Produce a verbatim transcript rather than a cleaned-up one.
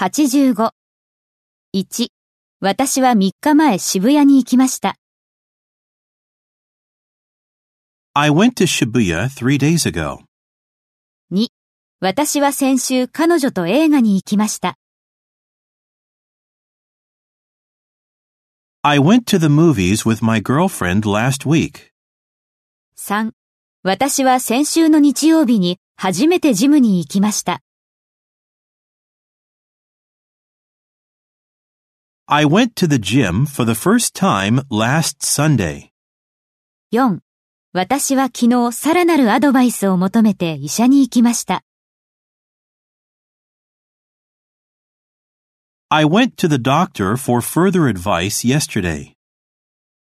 はちじゅうご。いち、私はみっかまえ渋谷に行きました。 I went to Shibuya three days ago. に、私は先週彼女と映画に行きました。 I went to the movies with my girlfriend last week. さん、私は先週の日曜日に初めてジムに行きました。 I went to the gym for the first time last Sunday. よん、私は昨日さらなるアドバイスを求めて医者に行きました。 I went to the doctor for further advice yesterday.